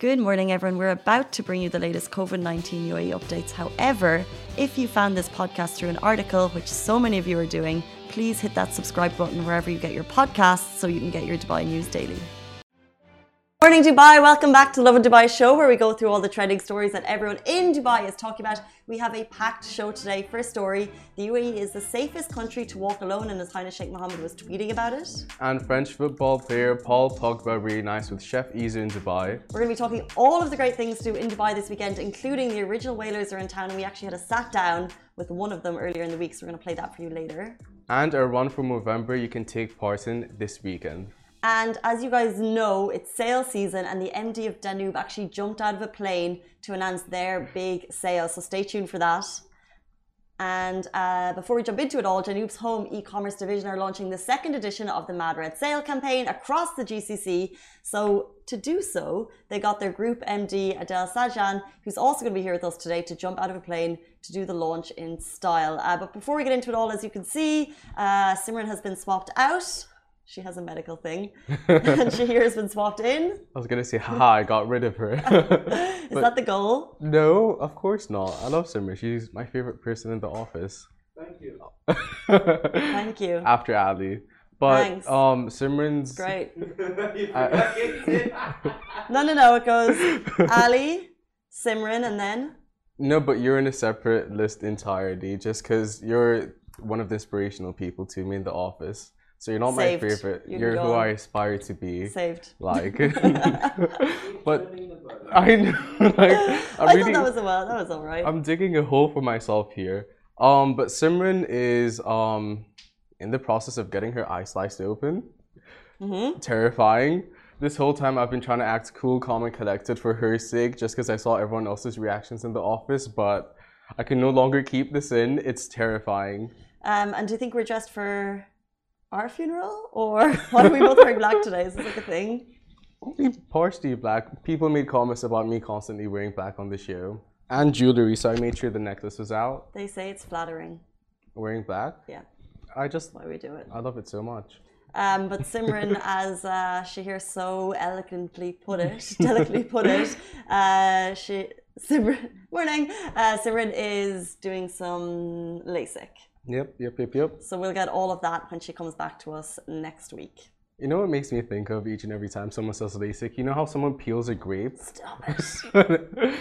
Good morning, everyone. We're about to bring you the latest COVID-19 UAE updates. However, if you found this podcast through an article, which so many of you are doing, please hit that subscribe button wherever you get your podcasts so you can get your Dubai news daily. Morning, Dubai. Welcome back to Lovin Dubai show, where we go through all the trending stories that everyone in Dubai is talking about. We have a packed show today. First story, the UAE is the safest country to walk alone, and His Highness Sheikh Mohammed was tweeting about it. And French football player Paul Pogba really nice with Chef Izu in Dubai. We're going to be talking all of the great things to do in Dubai this weekend, including the original Whalers are in town, and we actually had a sat down with one of them earlier in the week, so we're going to play that for you later. And a run for November you can take part in this weekend. And as you guys know, it's sale season, and the MD of Danube actually jumped out of a plane to announce their big sale. So stay tuned for that. And before we jump into it all, Danube's home e-commerce division are launching the second edition of the Mad Red Sale campaign across the GCC. So to do so, they got their group MD, Adel Sajan, who's also going to be here with us today, to jump out of a plane to do the launch in style. But before we get into it all, as you can see, Simran has been swapped out. She has a medical thing. And Shahir has been swapped in. I was going to say, haha, I got rid of her. Is that the goal? No, of course not. I love Simran. She's my favorite person in the office. Thank you. Thank you. After Ali. But Thanks. Simran's... Great. No, it goes Ali, Simran, and then? No, but you're in a separate list entirely just because you're one of the inspirational people to me in the office. So you're not Saved. my favorite. You You're can who go I on. aspire to be. Saved. Like, but I know. Like, I thought that was all right. I'm digging a hole for myself here. But Simran is in the process of getting her eye sliced open. Terrifying. This whole time I've been trying to act cool, calm, and collected for her sake, just because I saw everyone else's reactions in the office. But I can no longer keep this in. It's terrifying. And do you think we're dressed for our funeral, or why are we both wearing black today? Is this like a thing? Only partially black. People made comments about me constantly wearing black on the show. And jewelry, so I made sure the necklace was out. They say it's flattering. Wearing black? Yeah, I just, why we do it. I love it so much. But Simran, as Shahir so eloquently put it, delicately put it, Simran is doing some LASIK. Yep. So we'll get all of that when she comes back to us next week. You know what makes me think of each and every time someone says LASIK? You know how someone peels a grape? Stop it.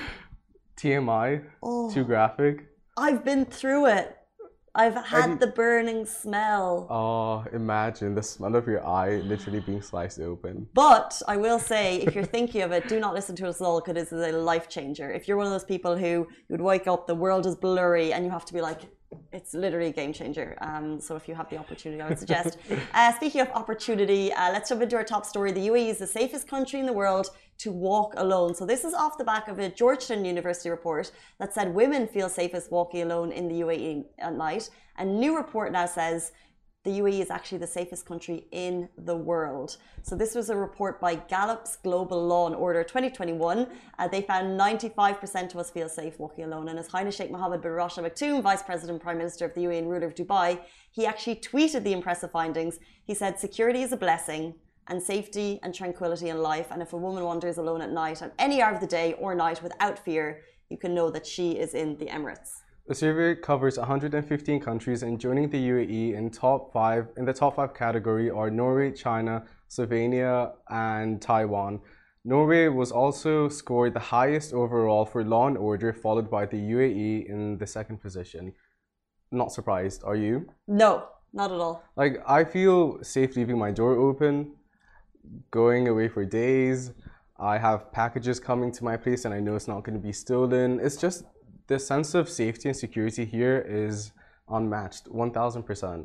TMI? Oh. Too graphic? I've been through it. I've had the burning smell. Oh, imagine the smell of your eye literally being sliced open. But I will say, if you're thinking of it, do not listen to us all, because this is a life changer. If you're one of those people who you would wake up, the world is blurry, and you have to be like, it's literally a game changer. So if you have the opportunity, I would suggest. Speaking of opportunity, let's jump into our top story. The UAE is the safest country in the world to walk alone. So this is off the back of a Georgetown University report that said women feel safest walking alone in the UAE at night. A new report now says the UAE is actually the safest country in the world. So this was a report by Gallup's Global Law and Order 2021. They found 95% of us feel safe walking alone. And His Highness Sheikh Mohammed bin Rashid Al Maktoum, Vice President, Prime Minister of the UAE and ruler of Dubai, he actually tweeted the impressive findings. He said, security is a blessing, and safety and tranquility in life. And if a woman wanders alone at night, at any hour of the day or night without fear, you can know that she is in the Emirates. The survey covers 115 countries, and joining the UAE in the top five category are Norway, China, Slovenia, and Taiwan. Norway was also scored the highest overall for law and order, followed by the UAE in the second position. Not surprised, are you? No, not at all. Like, I feel safe leaving my door open, going away for days. I have packages coming to my place and I know it's not going to be stolen. It's just the sense of safety and security here is unmatched, 1000%.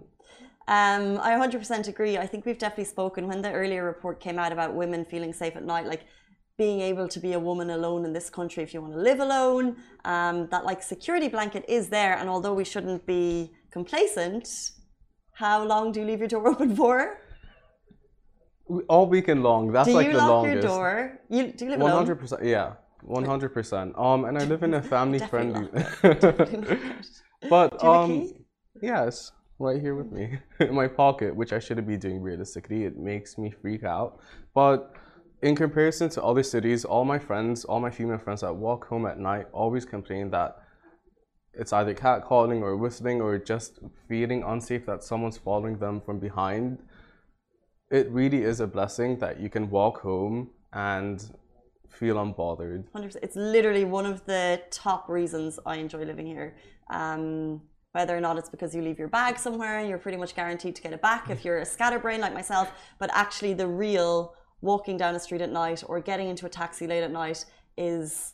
I 100% agree. I think we've definitely spoken when the earlier report came out about women feeling safe at night, like being able to be a woman alone in this country if you want to live alone, that like security blanket is there. And although we shouldn't be complacent, how long do you leave your door open for? All weekend long. That's like the longest. Do you lock your door? Do you live alone? 100%. Yeah, 100%. And I live in a family-friendly. But Do you have a key? yes, right here with me in my pocket, which I shouldn't be doing realistically. It makes me freak out. But in comparison to other cities, all my friends, all my female friends that walk home at night always complain that it's either catcalling or whistling or just feeling unsafe that someone's following them from behind. It really is a blessing that you can walk home and feel unbothered. 100%. It's literally one of the top reasons I enjoy living here. Whether or not it's because you leave your bag somewhere and you're pretty much guaranteed to get it back if you're a scatterbrain like myself, but actually the real walking down a street at night or getting into a taxi late at night is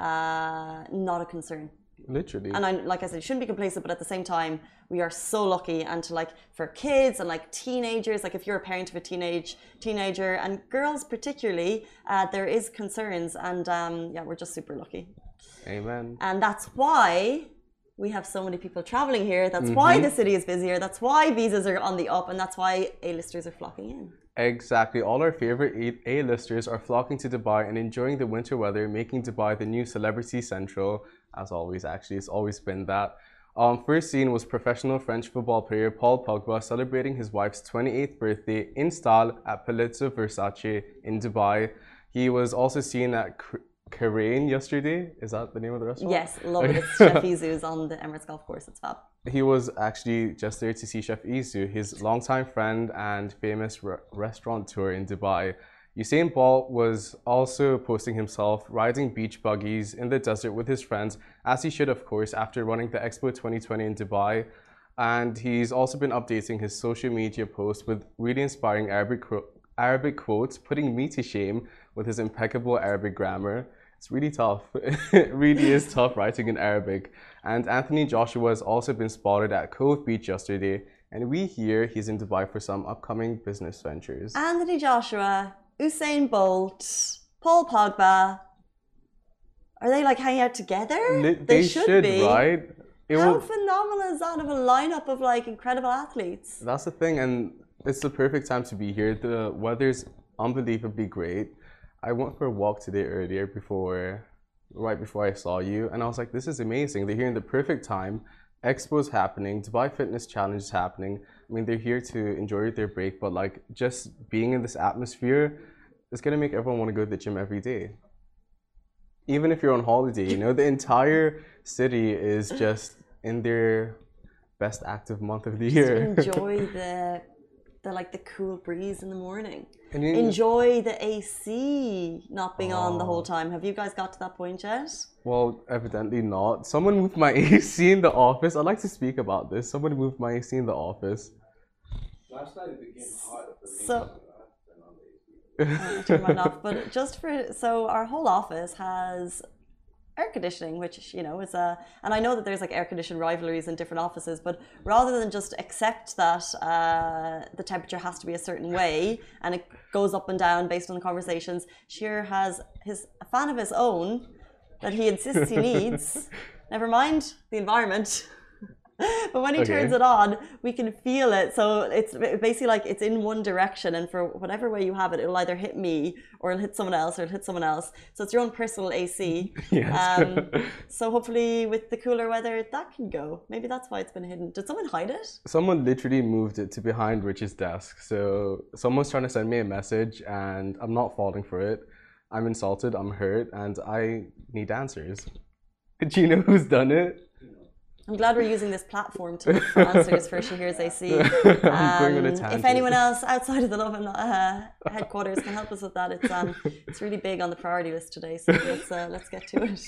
not a concern. Literally. And like I said, you shouldn't be complacent, but at the same time, we are so lucky. And to like, for kids and like teenagers, like if you're a parent of a teenager and girls particularly, there is concerns. And yeah, we're just super lucky. Amen. And that's why we have so many people traveling here. That's why the city is busier. That's why visas are on the up. And that's why A-listers are flocking in. Exactly. All our favorite A-listers are flocking to Dubai and enjoying the winter weather, making Dubai the new celebrity central. As always, actually, it's always been that. First seen was professional French football player Paul Pogba celebrating his wife's 28th birthday in style at Palazzo Versace in Dubai. He was also seen at Karain yesterday. Is that the name of the restaurant? Yes, love it. It's Chef Izu's on the Emirates Golf Course. It's fab. He was actually just there to see Chef Izu, his longtime friend and famous restaurateur in Dubai. Usain Bolt was also posting himself riding beach buggies in the desert with his friends, as he should, of course, after running the Expo 2020 in Dubai. And he's also been updating his social media posts with really inspiring Arabic quotes, putting me to shame with his impeccable Arabic grammar. It's really tough. It really is tough writing in Arabic. And Anthony Joshua has also been spotted at Cove Beach yesterday, and we hear he's in Dubai for some upcoming business ventures. Anthony Joshua, Usain Bolt, Paul Pogba. Are they like hanging out together? They should be, right? How phenomenal is that of a lineup of like incredible athletes? That's the thing, and it's the perfect time to be here. The weather's unbelievably great. I went for a walk today earlier right before I saw you, and I was like, this is amazing. They're here in the perfect time. Expo's happening, Dubai Fitness Challenge is happening. I mean, they're here to enjoy their break, but like just being in this atmosphere is gonna make everyone want to go to the gym every day. Even if you're on holiday, you know, the entire city is just in their best active month of the year. Just enjoy the cool breeze in the morning. And enjoy the AC not being on the whole time. Have you guys got to that point yet? Well, evidently not. Someone moved my AC in the office. I'd like to speak about this. Someone moved my AC in the office. Last night it became hot for me. So, turn mine off. But so our whole office has air conditioning, which, you know, is and I know that there's like air conditioned rivalries in different offices, but rather than just accept that the temperature has to be a certain way and it goes up and down based on the conversations, Sheer has a fan of his own that he insists he needs. Never mind the environment. But when he turns it on, we can feel it. So it's basically like it's in one direction, and for whatever way you have it, it'll either hit me or it'll hit someone else or it'll hit someone else. So it's your own personal AC. Yes. So hopefully with the cooler weather, that can go. Maybe that's why it's been hidden. Did someone hide it? Someone literally moved it to behind Rich's desk. So someone's trying to send me a message and I'm not falling for it. I'm insulted, I'm hurt, and I need answers. Do you know who's done it? I'm glad we're using this platform to look for answers for Shahir's AC. I'm going on a tangent. If anyone else outside of the Lovin headquarters can help us with that, it's really big on the priority list today. So let's get to it.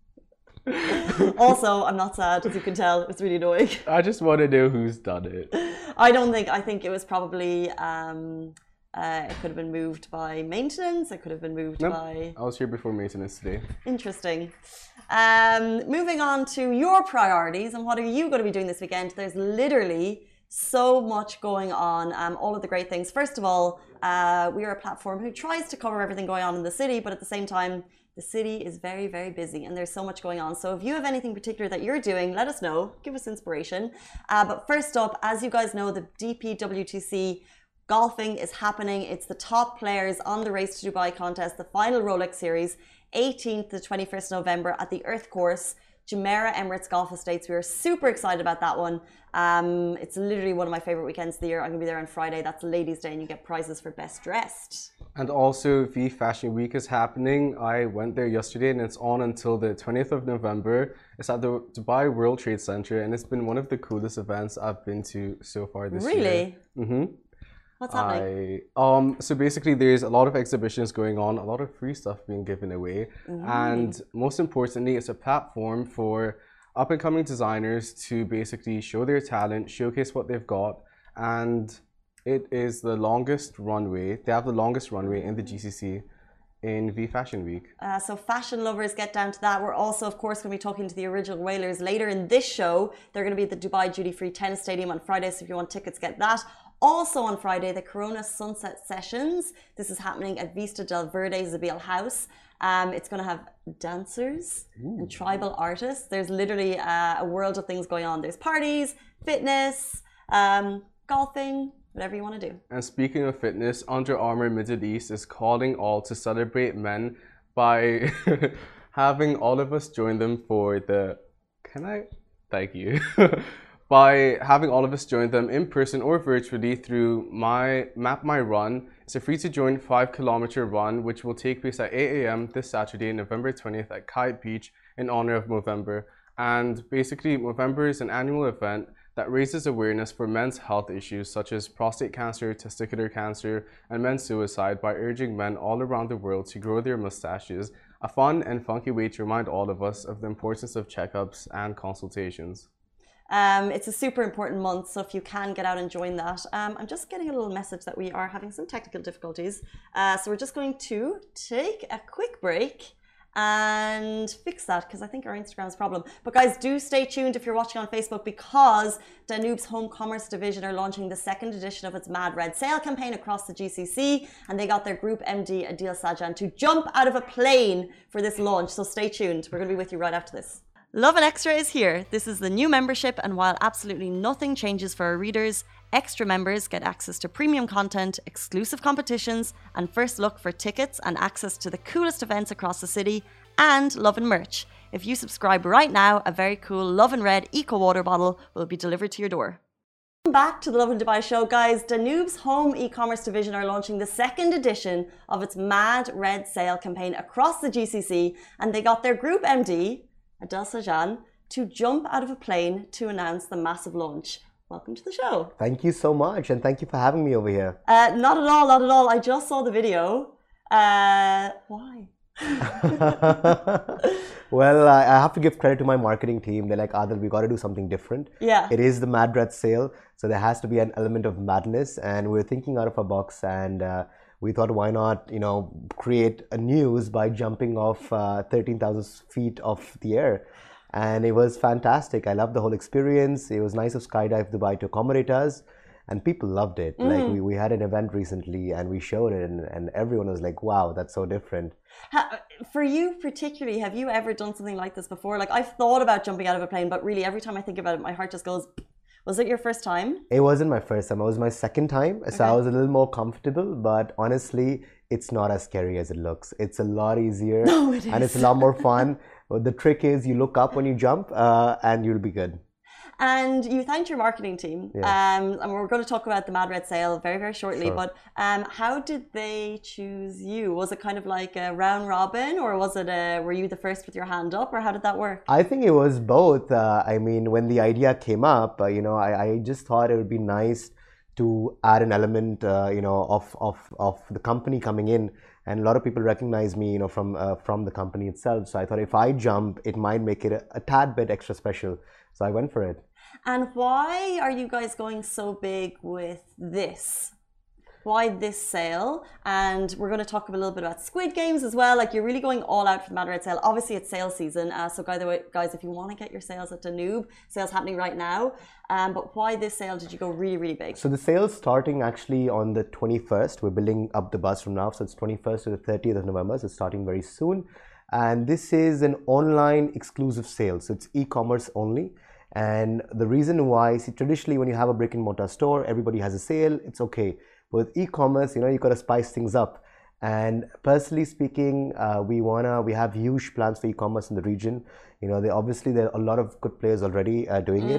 Also, I'm not sad, as you can tell. It's really annoying. I just want to know who's done it. I think it was probably. It could have been moved by maintenance. It could have been moved by. I was here before maintenance today. Interesting. Moving on to your priorities and what are you going to be doing this weekend? There's literally so much going on. All of the great things. First of all, we are a platform who tries to cover everything going on in the city, but at the same time, the city is very, very busy and there's so much going on. So if you have anything particular that you're doing, let us know. Give us inspiration. But first up, as you guys know, the DPWTC golfing is happening. It's the top players on the Race to Dubai contest, the final Rolex Series, 18th to 21st November at the Earth Course, Jumeirah Emirates Golf Estates. We are super excited about that one. It's literally one of my favorite weekends of the year. I'm going to be there on Friday. That's Ladies' Day and you get prizes for best dressed. And also, V Fashion Week is happening. I went there yesterday and it's on until the 20th of November. It's at the Dubai World Trade Center and it's been one of the coolest events I've been to so far this year. Really? Mm-hmm. What's happening? So basically there's a lot of exhibitions going on, a lot of free stuff being given away. And most importantly, it's a platform for up and coming designers to basically show their talent, showcase what they've got. And it is the longest runway. They have the longest runway in the GCC in V Fashion Week. So fashion lovers, get down to that. We're also, of course, going to be talking to the original Whalers later in this show. They're going to be at the Dubai Duty Free Tennis Stadium on Friday, so if you want tickets, get that. Also on Friday, the Corona Sunset Sessions. This is happening at Vista del Verde Zabeel House. It's going to have dancers and tribal artists. There's literally a world of things going on. There's parties, fitness, golfing, whatever you want to do. And speaking of fitness, Under Armour Middle East is calling all to celebrate men by having all of us join them for the... Thank you. By having all of us join them in person or virtually through Map My Run. It's a free to join 5-kilometer run, which will take place at 8 a.m. this Saturday, November 20th at Kite Beach in honor of Movember. And basically, Movember is an annual event that raises awareness for men's health issues such as prostate cancer, testicular cancer, and men's suicide by urging men all around the world to grow their mustaches, a fun and funky way to remind all of us of the importance of checkups and consultations. It's a super important month, so if you can get out and join that. I'm just getting a little message that we are having some technical difficulties. So we're just going to take a quick break and fix that because I think our Instagram's problem. But guys, do stay tuned if you're watching on Facebook because Danoob's Home Commerce division are launching the second edition of its Mad Red Sale campaign across the GCC, and they got their group MD Adil Sajan to jump out of a plane for this launch. So stay tuned. We're going to be with you right after this. Lovin Extra is here. This is the new membership, and while absolutely nothing changes for our readers, extra members get access to premium content, exclusive competitions, and first look for tickets and access to the coolest events across the city, and Lovin merch. If you subscribe right now, a very cool Lovin Red Eco Water bottle will be delivered to your door. Welcome back to the Lovin Dubai show, guys. Danoob's Home e-commerce division are launching the second edition of its Mad Red Sale campaign across the GCC, and they got their group MD, Adil Sajan, to jump out of a plane to announce the massive launch. Welcome to the show. Thank you so much, and thank you for having me over here. Not at all, not at all. I just saw the video. Why? Well, I have to give credit to my marketing team. They're like, Adil, we got to do something different. Yeah. It is the Mad Red Sale, so there has to be an element of madness, and we're thinking out of our box, and we thought, why not, create a news by jumping off 13,000 feet off the air. And it was fantastic. I loved the whole experience. It was nice of Skydive Dubai to accommodate us. And people loved it. Like we had an event recently and we showed it and everyone was like, wow, that's so different. For you particularly, have you ever done something like this before? Like I've thought about jumping out of a plane, but really every time I think about it, my heart just goes, was it your first time? It wasn't my first time. It was my second time. So I was a little more comfortable, but honestly, it's not as scary as it looks. It's a lot easier and it's a lot more fun. The trick is you look up when you jump and you'll be good. And you thanked your marketing team. Yeah. And we're going to talk about the Mad Red Sale very, very shortly. Sure. But how did they choose you? Was it kind of like a round robin, or was it were you the first with your hand up, or how did that work? I think it was both. I mean, when the idea came up, I just thought it would be nice to add an element, of the company coming in. And a lot of people recognize me, from the company itself. So I thought if I jump, it might make it a tad bit extra special. So I went for it. And why are you guys going so big with this? Why this sale? And we're going to talk a little bit about Squid Games as well. Like you're really going all out for the Mad Red Sale. Obviously it's sale season. So by the way, guys, if you want to get your sales at Danoob, sales happening right now. But why this sale did you go really, really big? So the sale's starting actually on the 21st. We're building up the buzz from now. So it's 21st to the 30th of November. So it's starting very soon. And this is an online exclusive sale. So it's e-commerce only. And the reason why, see, traditionally when you have a brick and mortar store, everybody has a sale, it's okay. But with e-commerce, you've got to spice things up. And personally speaking, we have huge plans for e-commerce in the region. There are a lot of good players already doing it.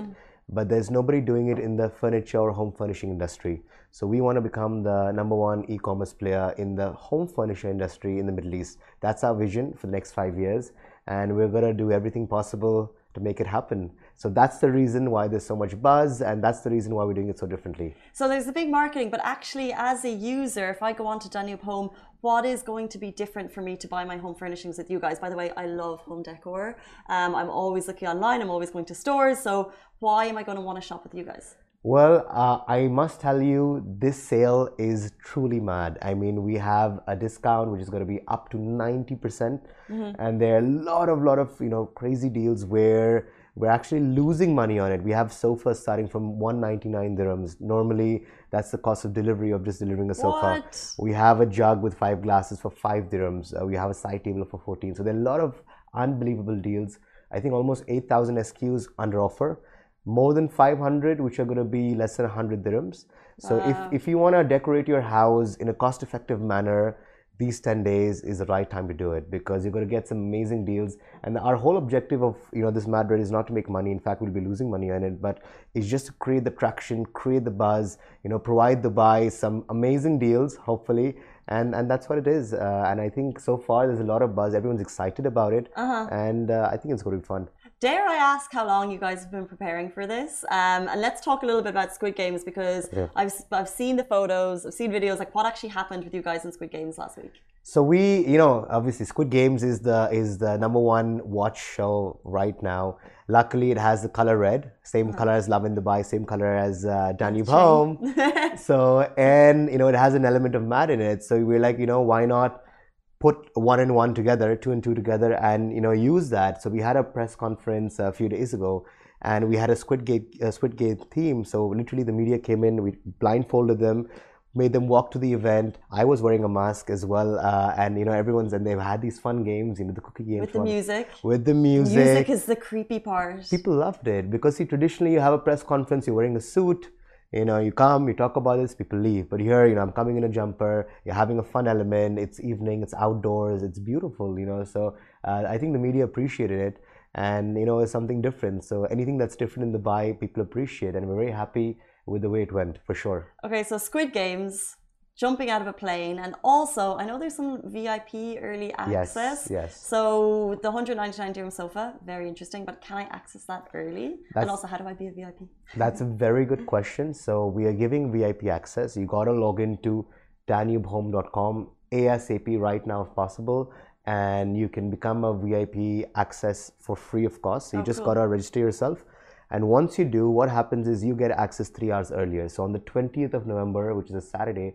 but there's nobody doing it in the furniture or home furnishing industry. So we want to become the number one e-commerce player in the home furniture industry in the Middle East. That's our vision for the next 5 years, and we're going to do everything possible to make it happen. So that's the reason why there's so much buzz, and that's the reason why we're doing it so differently. So there's a big marketing, but actually as a user, if I go on to Danube Home, what is going to be different for me to buy my home furnishings with you guys? By the way, I love home decor. I'm always looking online, I'm always going to stores. So why am I going to want to shop with you guys? Well, I must tell you, this sale is truly mad. I mean, we have a discount which is going to be up to 90%, and there are a lot of crazy deals where we're actually losing money on it. We have sofas starting from 199 dirhams. Normally, that's the cost of delivery of just delivering a sofa. What? We have a jug with 5 glasses for 5 dirhams. We have a side table for 14. So there are a lot of unbelievable deals. I think almost 8,000 SKUs under offer. More than 500, which are going to be less than 100 dirhams. So if you want to decorate your house in a cost-effective manner, these 10 days is the right time to do it, because you're going to get some amazing deals. And our whole objective of this Mad Red is not to make money. In fact, we'll be losing money on it, but it's just to create the traction, create the buzz, provide Dubai some amazing deals, hopefully. And that's what it is. And I think so far there's a lot of buzz. Everyone's excited about it, and I think it's going to be fun. Dare I ask how long you guys have been preparing for this? And let's talk a little bit about Squid Games, because I've seen the photos, I've seen videos, like what actually happened with you guys in Squid Games last week. So we, obviously Squid Games is the number one watch show right now. Luckily, it has the color red, same color as Love in Dubai, same color as Danube Home. So, and it has an element of mad in it. So we're like, why not put 1 and 1 together, 2 and 2 together, and use that. So we had a press conference a few days ago, and we had a Squid Game theme. So literally the media came in, we blindfolded them, made them walk to the event. I was wearing a mask as well, and and they've had these fun games, the cookie games with the music. With the music. Music is the creepy part. People loved it, because see, traditionally you have a press conference, you're wearing a suit. You come, you talk about this, people leave. But here, I'm coming in a jumper, you're having a fun element, it's evening, it's outdoors, it's beautiful, So I think the media appreciated it, and, it's something different. So anything that's different in Dubai, people appreciate, and we're very happy with the way it went, for sure. Okay, so Squid Games, jumping out of a plane, and also I know there's some VIP early access. Yes. So the 199 dirham sofa, very interesting, but can I access that early? And also, how do I be a VIP? That's a very good question. So we are giving VIP access. You got to log into danubehome.com ASAP right now if possible, and you can become a VIP access for free of cost. So you just got to register yourself. And once you do, what happens is you get access 3 hours earlier. So on the 20th of November, which is a Saturday,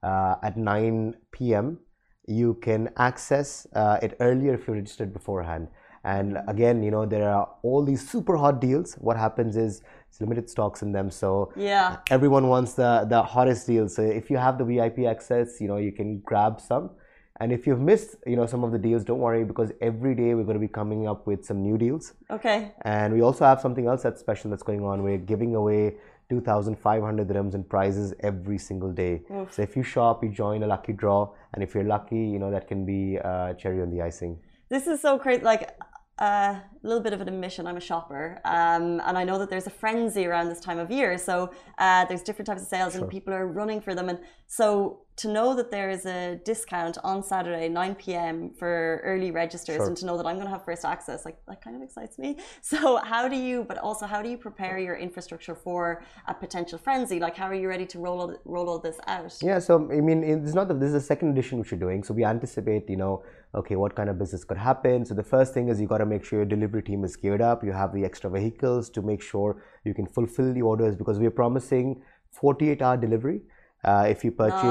at 9 p.m. you can access it earlier if you registered beforehand. And again, there are all these super hot deals. What happens is it's limited stocks in them, so everyone wants the hottest deals. So if you have the VIP access, you can grab some. And if you've missed some of the deals, don't worry, because every day we're going to be coming up with some new deals. Okay. And we also have something else that's special that's going on. We're giving away 2,500 dirhams in prizes every single day. So if you shop, you join a lucky draw, and if you're lucky, that can be cherry on the icing. This is so crazy. Like a little bit of an admission, I'm a shopper, and I know that there's a frenzy around this time of year. So there's different types of sales, and people are running for them. And so to know that there is a discount on Saturday 9 p.m. for early registers, and to know that I'm going to have first access, like that kind of excites me. So how do you prepare your infrastructure for a potential frenzy? Like, how are you ready to roll all this out? Yeah, so I mean, it's not that this is the second edition which you're doing. So we anticipate, okay, what kind of business could happen. So the first thing is you got to make sure your delivery team is geared up. You have the extra vehicles to make sure you can fulfill the orders, because we're promising 48-hour delivery. If you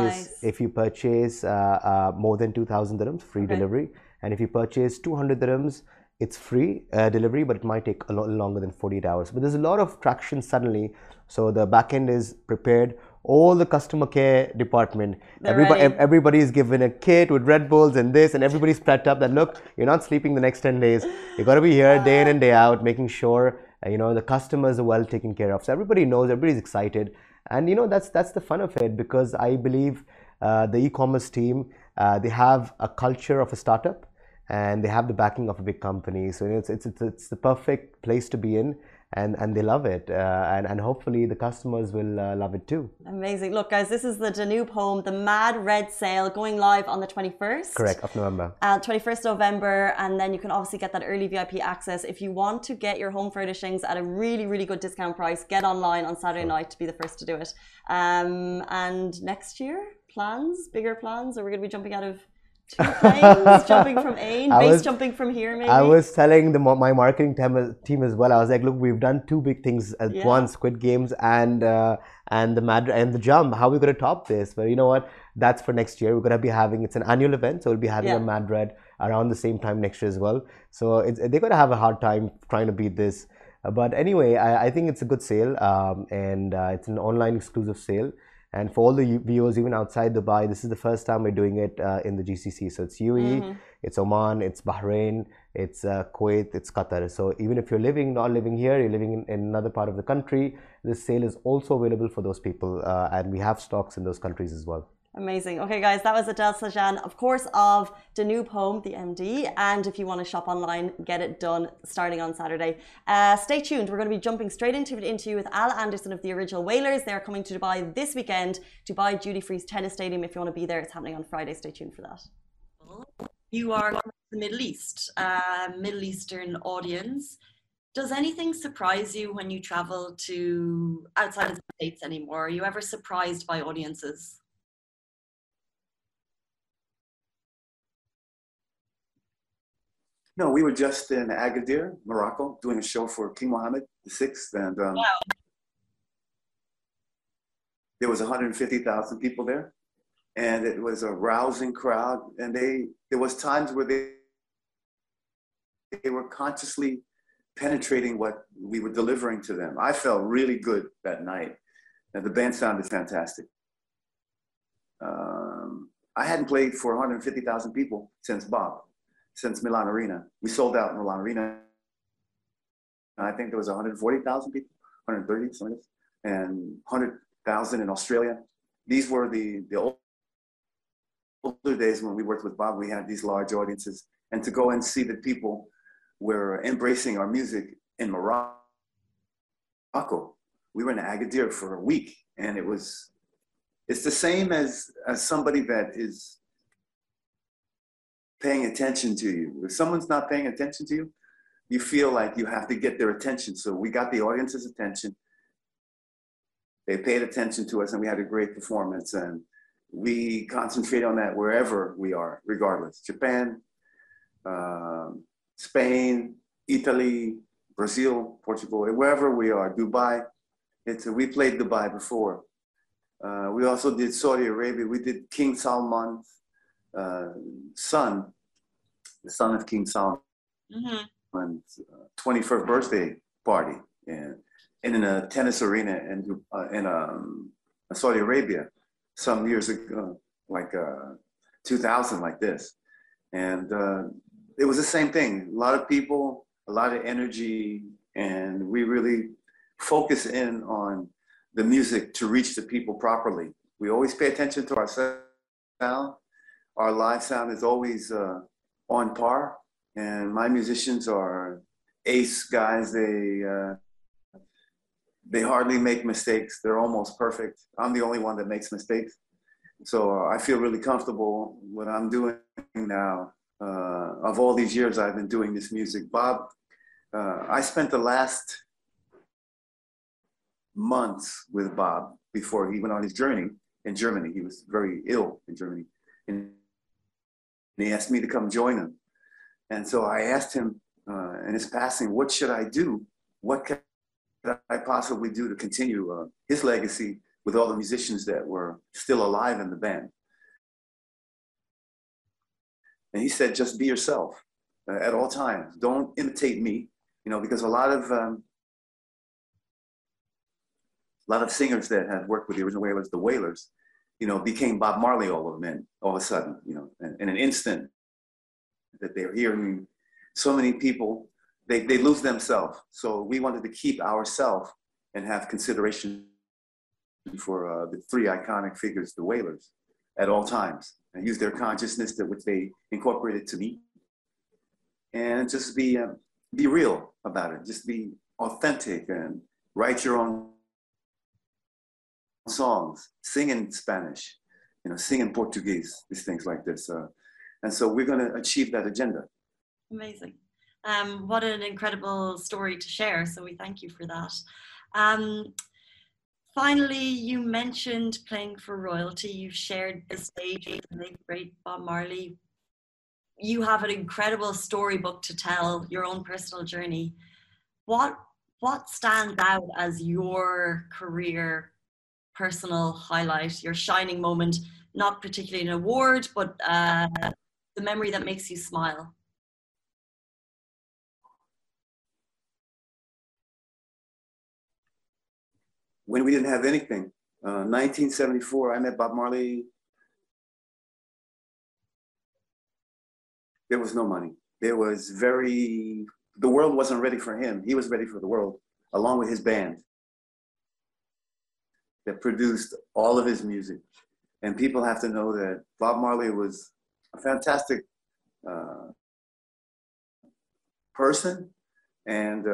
purchase more than 2,000 dirhams, free delivery. And if you purchase 200 dirhams, it's free delivery, but it might take a lot longer than 48 hours. But there's a lot of traction suddenly. So the backend is prepared. All the customer care department, everybody is given a kit with Red Bulls and this, and everybody's prepped up that, look, you're not sleeping the next 10 days. You got to be here day in and day out, making sure the customers are well taken care of. So everybody knows, everybody's excited. And that's the fun of it, because I believe the e-commerce team, they have a culture of a startup, and they have the backing of a big company. So it's the perfect place to be in. and they love it, and hopefully the customers will love it too. Amazing. Look, guys, this is the Danube home, the Mad Red Sale, going live on the 21st. Correct, of November. 21st November, and then you can obviously get that early VIP access. If you want to get your home furnishings at a really, really good discount price, get online on Saturday night to be the first to do it. And next year, bigger plans? Are we going to be jumping out of two planes, jumping from Ain, jumping from here maybe? I was telling my marketing team as well. I was like, look, we've done two big things at once, Squid Games and the Jump. How are we going to top this? But you know what? That's for next year. We're going to be having, it's an annual event, so we'll be having a Mad Red around the same time next year as well. So they're going to have a hard time trying to beat this. But anyway, I think it's a good sale, and it's an online exclusive sale. And for all the viewers, even outside Dubai, this is the first time we're doing it in the GCC. So it's UAE, it's Oman, it's Bahrain, it's Kuwait, it's Qatar. So even if you're not living here, you're living in another part of the country, this sale is also available for those people. And we have stocks in those countries as well. Amazing. Okay, guys, that was Adel Sajjan, of course, of Danube Home, the MD. And if you want to shop online, get it done starting on Saturday. Stay tuned. We're going to be jumping straight into an interview with Al Anderson of the Original Wailers. They're coming to Dubai this weekend, Dubai Duty Free's tennis stadium. If you want to be there, it's happening on Friday. Stay tuned for that. You are from the Middle East, Middle Eastern audience. Does anything surprise you when you travel to outside of the States anymore? Are you ever surprised by audiences? No, we were just in Agadir, Morocco, doing a show for King Mohammed VI, and there was 150,000 people there, and it was a rousing crowd. And there was times where they were consciously penetrating what we were delivering to them. I felt really good that night, and the band sounded fantastic. I hadn't played for 150,000 people since Milan Arena. We sold out in Milan Arena. And I think there was 140,000 people, 130, something like this, and 100,000 in Australia. These were the older days when we worked with Bob. We had these large audiences, and to go and see that people were embracing our music in Morocco. We were in Agadir for a week, and it's the same as somebody that is paying attention to you. If someone's not paying attention to you, you feel like you have to get their attention. So we got the audience's attention. They paid attention to us, and we had a great performance. And we concentrate on that wherever we are, regardless. Japan, Spain, Italy, Brazil, Portugal, wherever we are, Dubai. We played Dubai before. We also did Saudi Arabia. We did King Salman's the son of King Salman's 21st birthday party, and in a tennis arena in Saudi Arabia some years ago, like 2000, like this. And it was the same thing. A lot of people, a lot of energy, and we really focus in on the music to reach the people properly. We always pay attention to our sound. Our live sound is always on par, and my musicians are ace guys. They hardly make mistakes. They're almost perfect. I'm the only one that makes mistakes. So I feel really comfortable what I'm doing now. Of all these years I've been doing this music, Bob, I spent the last months with Bob before he went on his journey in Germany. He was very ill in Germany, and he asked me to come join him. And so I asked him in his passing, what should I do? What can I possibly do to continue his legacy with all the musicians that were still alive in the band? And he said, just be yourself at all times. Don't imitate me, because a lot of singers that had worked with the Original Wailers, the Wailers, became Bob Marley all of a sudden, in an instant that they're hearing so many people, they lose themselves. So we wanted to keep ourselves and have consideration for the three iconic figures, the Wailers, at all times, and use their consciousness which they incorporated to me, and just be real about it. Just be authentic and write your own songs, sing in Spanish, sing in Portuguese, these things like this. And so we're going to achieve that agenda. Amazing. What an incredible story to share. So we thank you for that. Finally, you mentioned playing for royalty. You've shared the stage with the late great Bob Marley. You have an incredible storybook to tell, your own personal journey. What stands out as your career personal highlight, your shining moment, not particularly an award, but the memory that makes you smile? When we didn't have anything, 1974, I met Bob Marley. There was no money. The world wasn't ready for him. He was ready for the world, along with his band that produced all of his music. And people have to know that Bob Marley was a fantastic person. And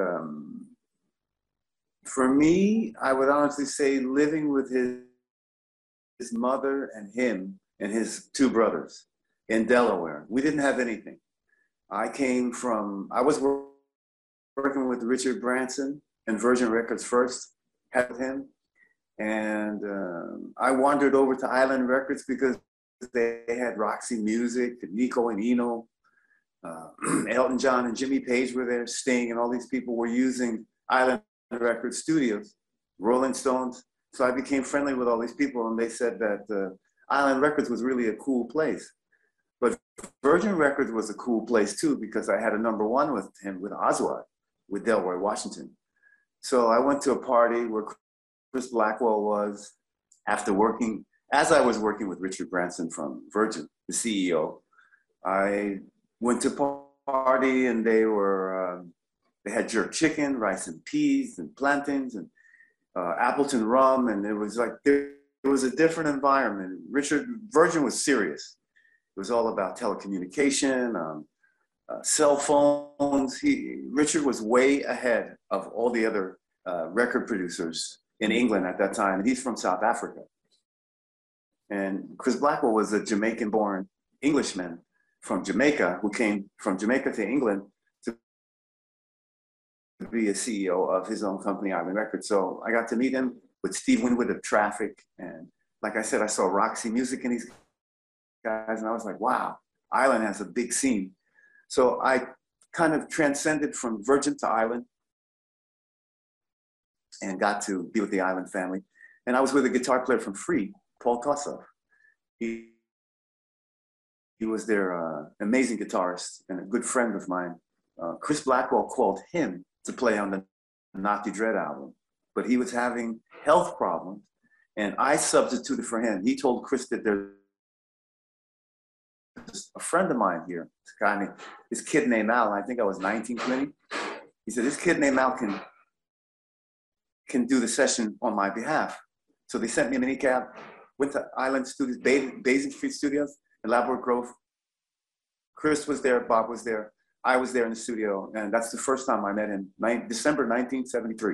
for me, I would honestly say living with his mother and him and his two brothers in Delaware. We didn't have anything. I was working with Richard Branson and Virgin Records first, had him. And I wandered over to Island Records because they had Roxy Music, Nico and Eno, Elton John and Jimmy Page were there, Sting, and all these people were using Island Records studios, Rolling Stones. So I became friendly with all these people, and they said that Island Records was really a cool place. But Virgin Records was a cool place too, because I had a #1 with him, with Oswald, with Delroy Washington. So I went to a party where Chris Blackwell was, as I was working with Richard Branson from Virgin, the CEO. I went to a party and they had jerk chicken, rice and peas and plantains and Appleton rum. And it was like, there was a different environment. Virgin was serious. It was all about telecommunication, cell phones. Richard was way ahead of all the other record producers in England at that time. And he's from South Africa. And Chris Blackwell was a Jamaican-born Englishman from Jamaica who came from Jamaica to England to be a CEO of his own company, Island Records. So I got to meet him with Steve Winwood of Traffic. And like I said, I saw Roxy Music in these guys, and I was like, wow, Island has a big scene. So I kind of transcended from Virgin to Island and got to be with the Island family. And I was with a guitar player from Free, Paul Kossoff. He was their amazing guitarist and a good friend of mine. Chris Blackwell called him to play on the Natty Dread album, but he was having health problems, and I substituted for him. He told Chris that there's a friend of mine here, this kid named Al, I think I was 19, 20. He said, this kid named Al can do the session on my behalf. So they sent me a minicab, went to Island Studios, Basing Street Studios in Labrador Grove. Chris was there, Bob was there, I was there in the studio, and that's the first time I met him, December 1973,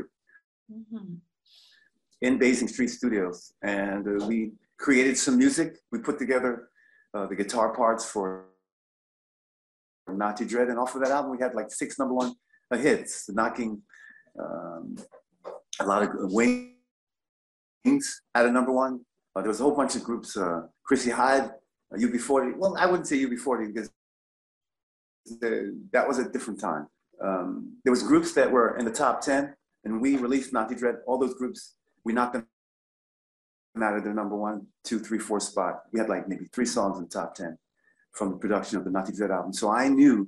in Basing Street Studios. And we created some music. We put together the guitar parts for Natty Dread, and off of that album we had like 6 #1 hits, knocking a lot of Wings at a #1. There was a whole bunch of groups, Chrissy Hyde, UB40. Well, I wouldn't say UB40 because that was a different time. There was groups that were in the top 10, and we released Natty Dread. All those groups, we knocked them out of their #1, 2, 3, 4 spot. We had like maybe 3 songs in the top 10 from the production of the Natty Dread album. So I knew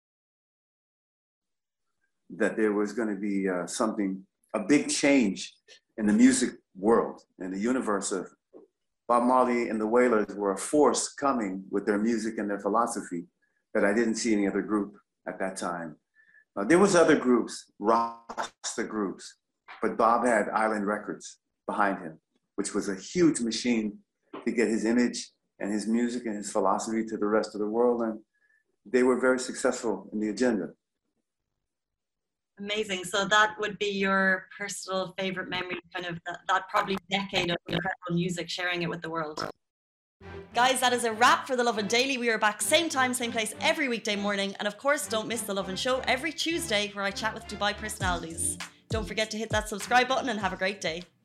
that there was going to be a big change in the music world, in the universe of Bob Marley and the Wailers were a force coming with their music and their philosophy that I didn't see any other group at that time. There was other groups, Rasta groups, but Bob had Island Records behind him, which was a huge machine to get his image and his music and his philosophy to the rest of the world. And they were very successful in the agenda. Amazing. So that would be your personal favorite memory, kind of that probably decade of incredible music, sharing it with the world. Guys, that is a wrap for The Lovin Daily. We are back same time, same place every weekday morning. And of course, don't miss The Lovin Show every Tuesday where I chat with Dubai personalities. Don't forget to hit that subscribe button and have a great day.